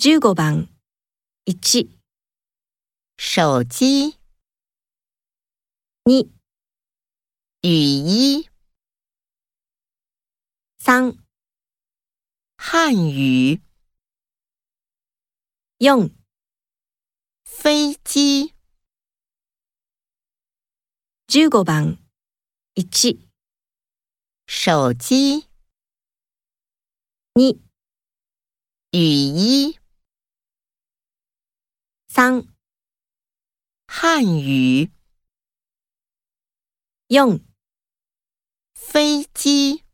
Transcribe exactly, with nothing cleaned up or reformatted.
じゅうごばんいち、 手机、 に、 雨衣、 さん、 汉语、 よん、 飞机、 じゅうごばんいち、 手机、 に、 雨衣、 さん、 汉语、 よん、 飞机。